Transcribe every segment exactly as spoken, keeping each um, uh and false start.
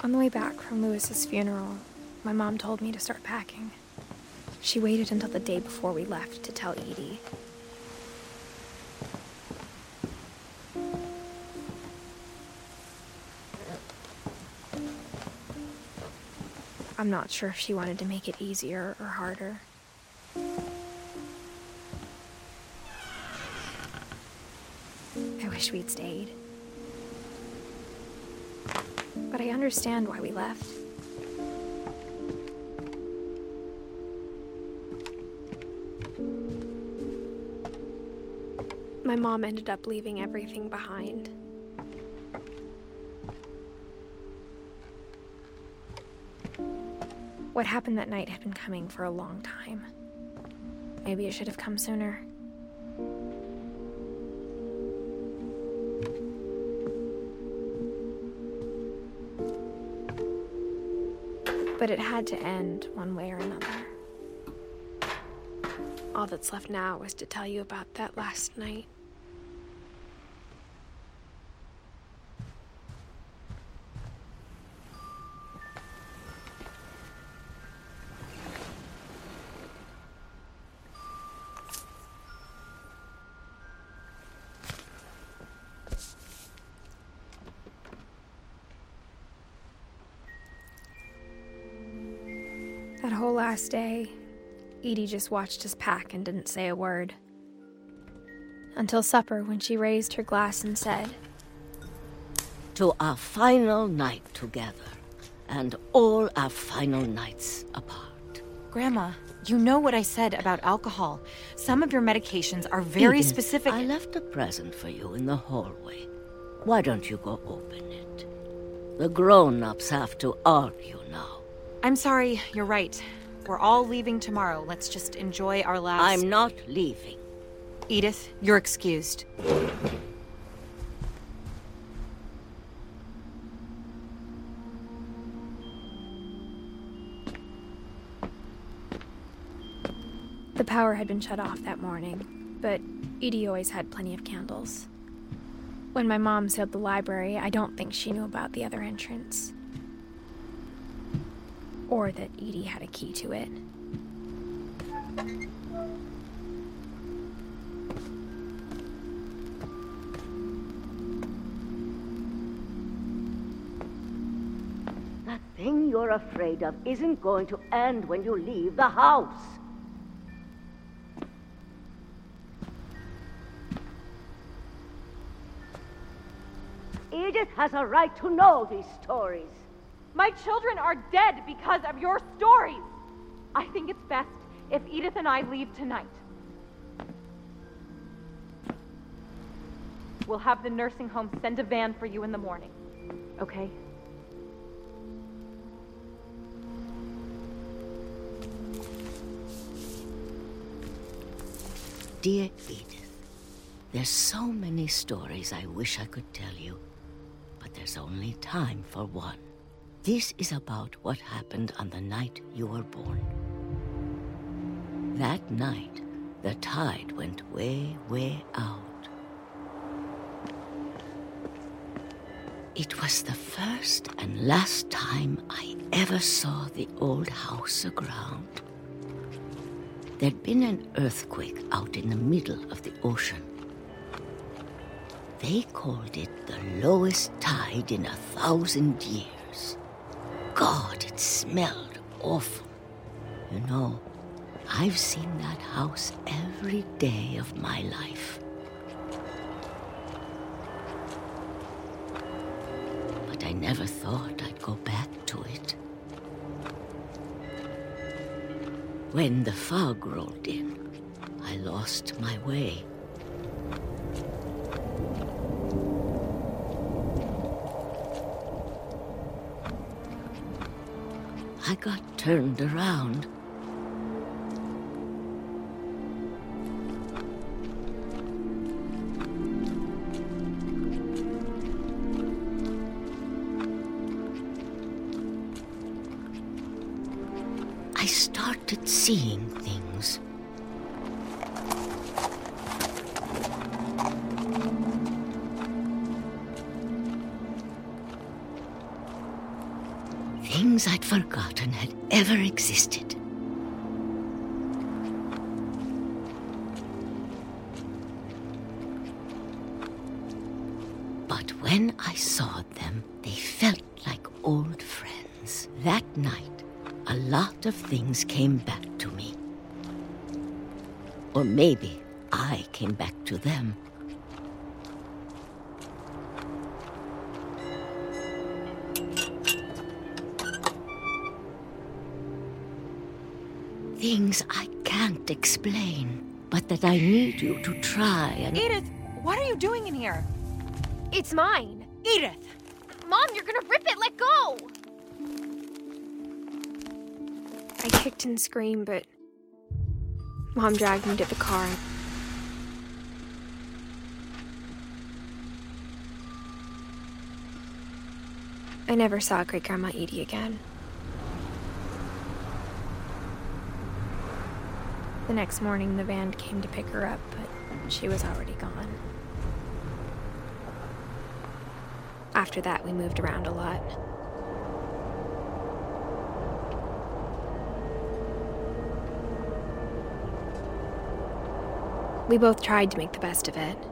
On the way back from Lewis's funeral, my mom told me to start packing. She waited until the day before we left to tell Edie. I'm not sure if she wanted to make it easier or harder. I wish we'd stayed. But I understand why we left. My mom ended up leaving everything behind. What happened that night had been coming for a long time. Maybe it should have come sooner. But it had to end one way or another. All that's left now is to tell you about that last night. That whole last day, Edie just watched us pack and didn't say a word. Until supper, when she raised her glass and said, "To our final night together, and all our final nights apart." Grandma, you know what I said about alcohol. Some of your medications are very Edith, specific. I left a present for you in the hallway. Why don't you go open it? The grown-ups have to argue now. I'm sorry, you're right. We're all leaving tomorrow. Let's just enjoy our last... I'm not leaving. Edith, you're excused. The power had been shut off that morning, but Edie always had plenty of candles. When my mom sealed the library, I don't think she knew about the other entrance. Or that Edie had a key to it. That thing you're afraid of isn't going to end when you leave the house. Edith has a right to know these stories. My children are dead because of your stories. I think it's best if Edith and I leave tonight. We'll have the nursing home send a van for you in the morning, okay? Dear Edith, there's so many stories I wish I could tell you, but there's only time for one. This is about what happened on the night you were born. That night, the tide went way, way out. It was the first and last time I ever saw the old house aground. There'd been an earthquake out in the middle of the ocean. They called it the lowest tide in a thousand years. God, it smelled awful. You know, I've seen that house every day of my life. But I never thought I'd go back to it. When the fog rolled in, I lost my way. I got turned around. I started seeing things. things I'd forgotten had ever existed. But when I saw them, they felt like old friends. That night, a lot of things came back to me. Or maybe I came back to them. Things I can't explain, but that I need you to try and... Edith, what are you doing in here? It's mine. Edith! Mom, you're gonna rip it! Let go! I kicked and screamed, but Mom dragged me to the car. I never saw Great-Grandma Edie again. The next morning, the van came to pick her up, but she was already gone. After that, we moved around a lot. We both tried to make the best of it.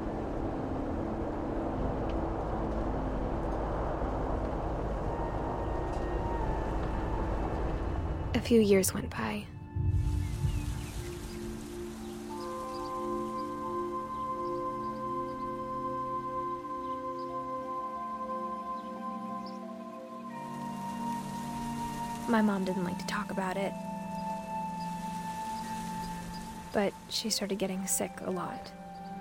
A few years went by. My mom didn't like to talk about it, but she started getting sick a lot.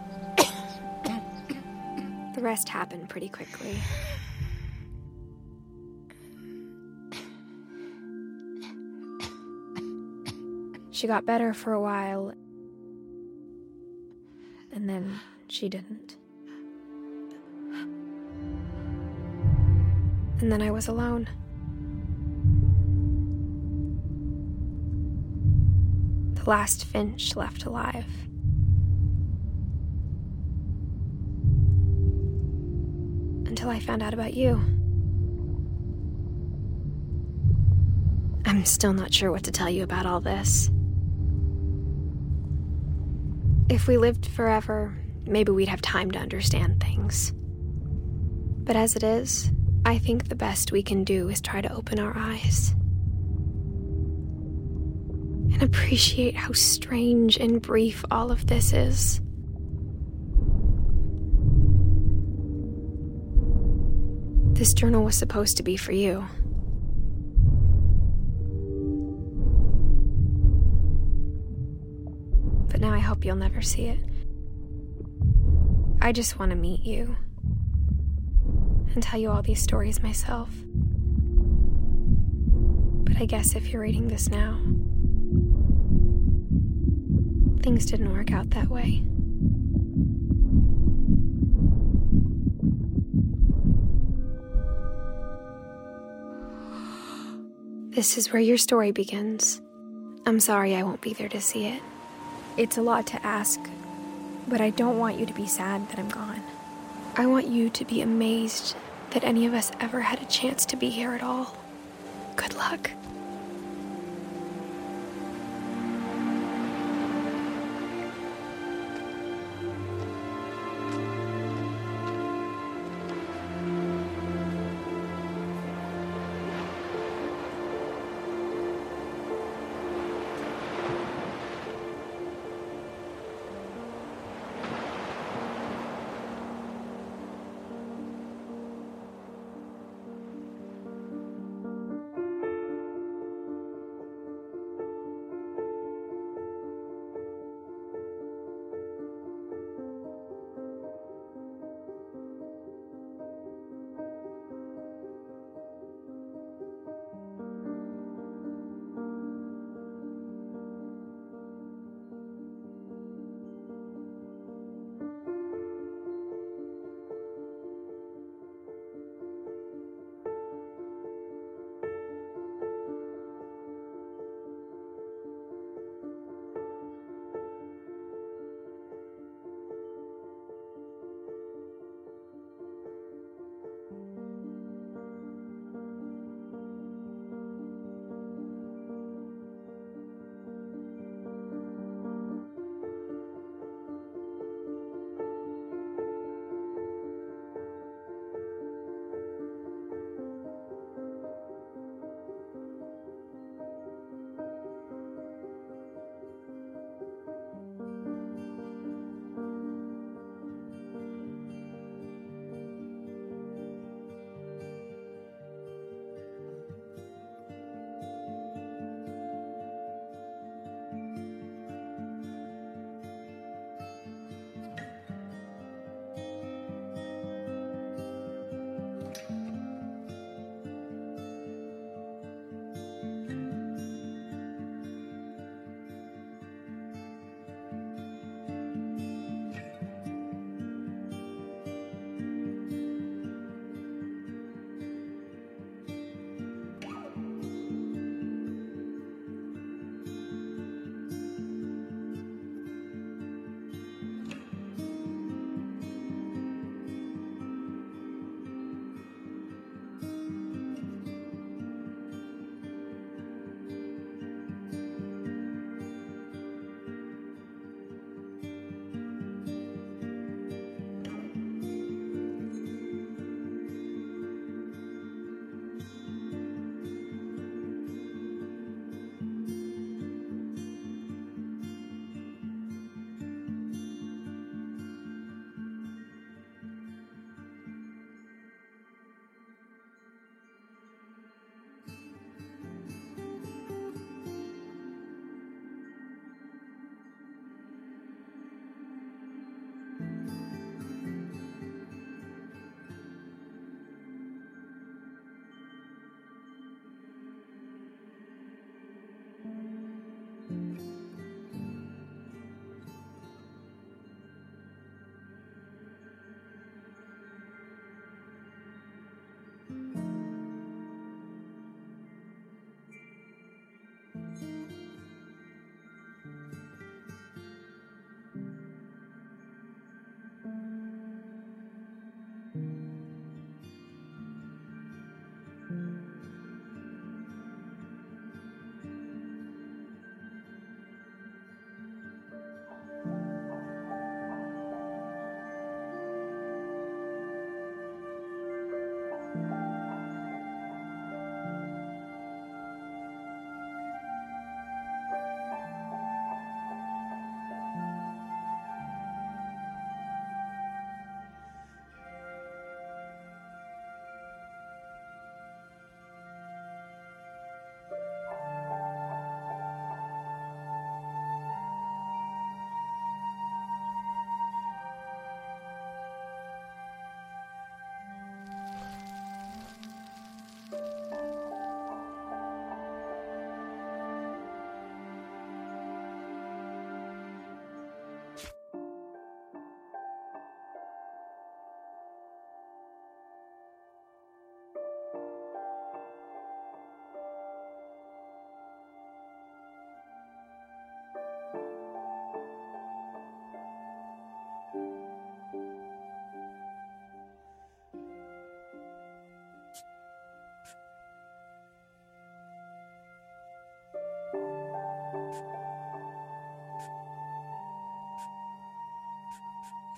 The rest happened pretty quickly. She got better for a while, and then she didn't. And then I was alone. The last Finch left alive. Until I found out about you. I'm still not sure what to tell you about all this. If we lived forever, maybe we'd have time to understand things. But as it is, I think the best we can do is try to open our eyes. And appreciate how strange and brief all of this is. This journal was supposed to be for you. But now I hope you'll never see it. I just want to meet you and tell you all these stories myself. But I guess if you're reading this now, things didn't work out that way. This is where your story begins. I'm sorry I won't be there to see it. It's a lot to ask, but I don't want you to be sad that I'm gone. I want you to be amazed that any of us ever had a chance to be here at all. Good luck.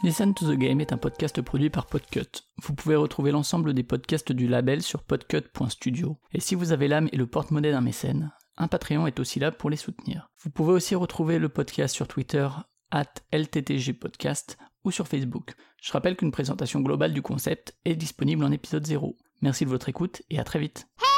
Listen to the Game est un podcast produit par Podcut. Vous pouvez retrouver l'ensemble des podcasts du label sur podcut point studio. Et si vous avez l'âme et le porte-monnaie d'un mécène, un Patreon est aussi là pour les soutenir. Vous pouvez aussi retrouver le podcast sur Twitter arobase L T T G podcast ou sur Facebook. Je rappelle qu'une présentation globale du concept est disponible en épisode zéro. Merci de votre écoute et à très vite.